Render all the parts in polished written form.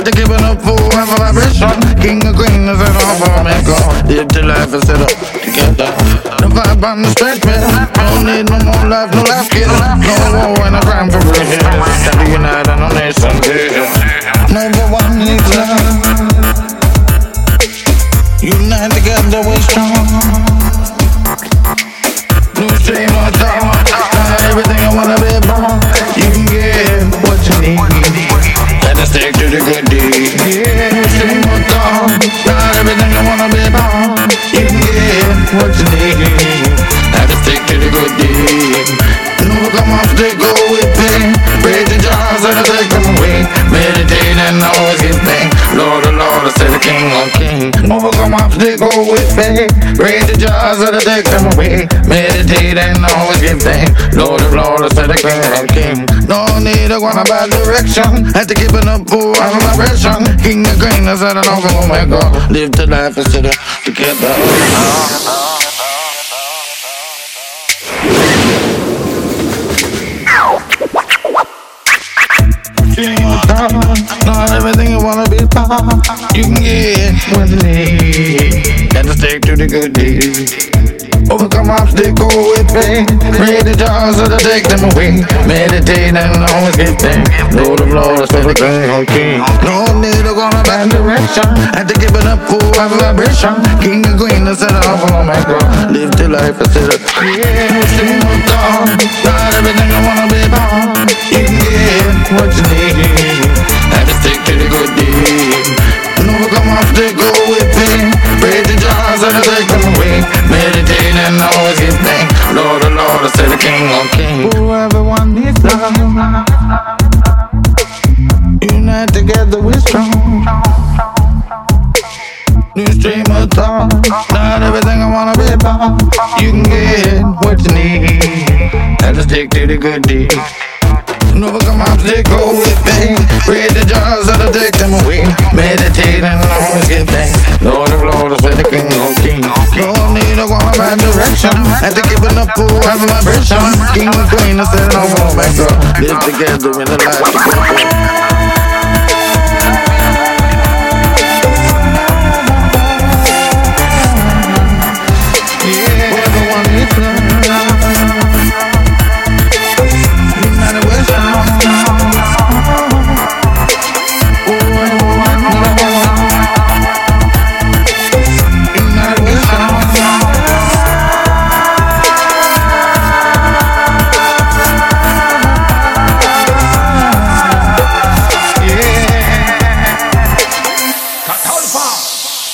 Had to give it up for a vibration. King of queen is an offer maker. Live the life and set up together. The vibe on the straight man. Don't need no more life, no life kill. No war and a crime for real. Stand to unite on our nation. Number one needs love. Unite together we're strong. New stream of thought. Not everything I wanna be born. You can get what you need. Better stick to the good deed. Yeah, new stream of thought. Not everything I wanna be born. You can get what you need. Better stick to the good deed. No come off, they go with pain. Break the jars and I take them away. Meditate and always give thanks. Lord, oh Lord, I say the King of Kings. Overcome obstacles with faith. Break the jars and I take them away. Meditate and always give thanks. Lord, oh Lord, I say the King of Kings. No need to go in a bad direction. Had to keep it up for our vibration. King of Queen, I said I know, oh my God. Live the life instead of together. Not everything you wanna be part. You can get what you need. Gotta stick to the good deeds. Overcome obstacles with faith. Read the jars so to take them away. Meditate and always give thanks. Lord of Lords, for the King of Kings. No need to go in a bad direction. Had to give it up for a vibration. King and Queen, I said off on my God. Live the life instead of stream of dawn. Not everything I wanna be born. You can get what you need. Had to stick to the good deed. Overcome obstacles with pain. Break the jars and I take them away. Meditate and always give thanks. Lord, oh Lord, I say the King of Kings. Oh, everyone needs love. Unite together we're strong. New stream of thought. Not everything I wanna be about. You can get what you need. Have to stick to the good deed. Overcome obstacles with pain. Break the jars and I take them away. Meditate and always give thanks. Lord of Lords, I say the King of Kings. No need to go in a bad direction. Had to keep it up for a vibration. King and Queen, I said no more, my God. Live together in the life together.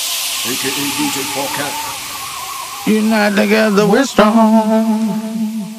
Unite together we're strong.